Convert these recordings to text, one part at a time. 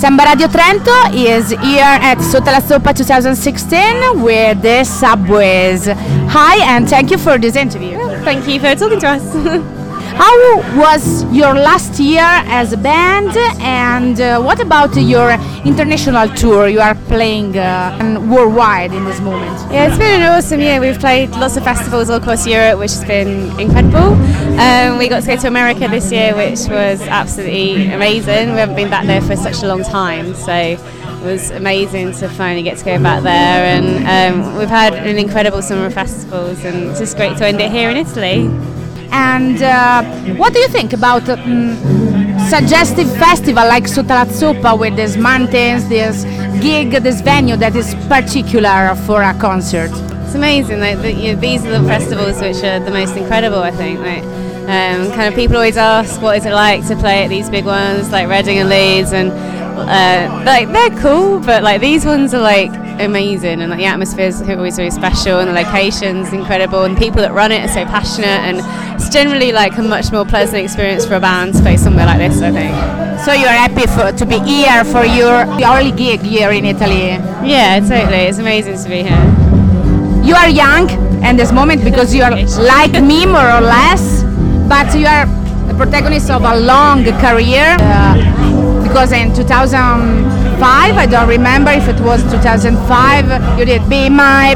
Samba Radio Trento is here at Sotto la Soppa 2016 with the Subways. Hi, and thank you for this interview. Thank you for talking to us. How was your last year as a band, and what about your international tour? You are playing worldwide in this moment. Yeah, it's been an awesome year. We've played lots of festivals all across Europe, which has been incredible. We got to go to America this year, which was absolutely amazing. We haven't been back there for such a long time, so it was amazing to finally get to go back there. And we've had an incredible summer of festivals, and it's just great to end it here in Italy. And what do you think about suggestive festival like Sotto la Zuppa with these mountains, this gig, this venue that is particular for a concert? It's amazing. These are the festivals which are the most incredible, I think. Kind of people always ask, what is it like to play at these big ones like Reading and Leeds, and they're cool, but these ones are amazing, and the atmospheres are always really special, and the location's incredible, and the people that run it are so passionate, and it's generally a much more pleasant experience for a band to play somewhere like this, I think. So you're happy to be here for your early gig here in Italy? Yeah, totally. It's amazing to be here. You are young at this moment because you are like me more or less, but you are the protagonist of a long career. Because in 2005, I don't remember if it was 2005, you did Be My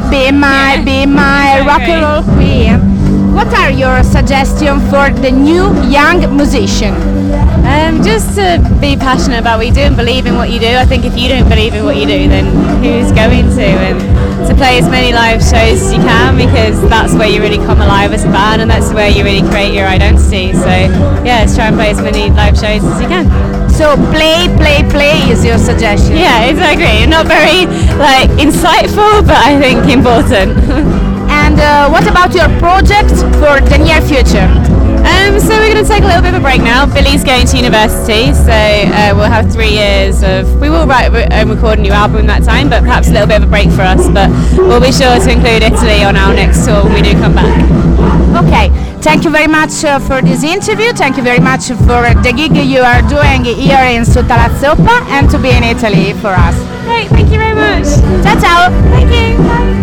Rock and Roll Queen. What are your suggestions for the new young musician? Just to be passionate about what you do and believe in what you do. I think if you don't believe in what you do, then who's going to? And to play as many live shows as you can, because that's where you really come alive as a band, and that's where you really create your identity. So yeah, let's try and play as many live shows as you can. So play is your suggestion? Yeah, exactly. Not very insightful, but I think important. And what about your project for the near future? So we're going to take a little bit of a break now. Billy's going to university, so we'll have 3 years of... We will write and record a new album in that time, but perhaps a little bit of a break for us. But we'll be sure to include Italy on our next tour when we do come back. Okay, thank you very much for this interview. Thank you very much for the gig you are doing here in Sotto la Zuppa, and to be in Italy for us. Great, thank you very much. Ciao ciao. Thank you. Bye.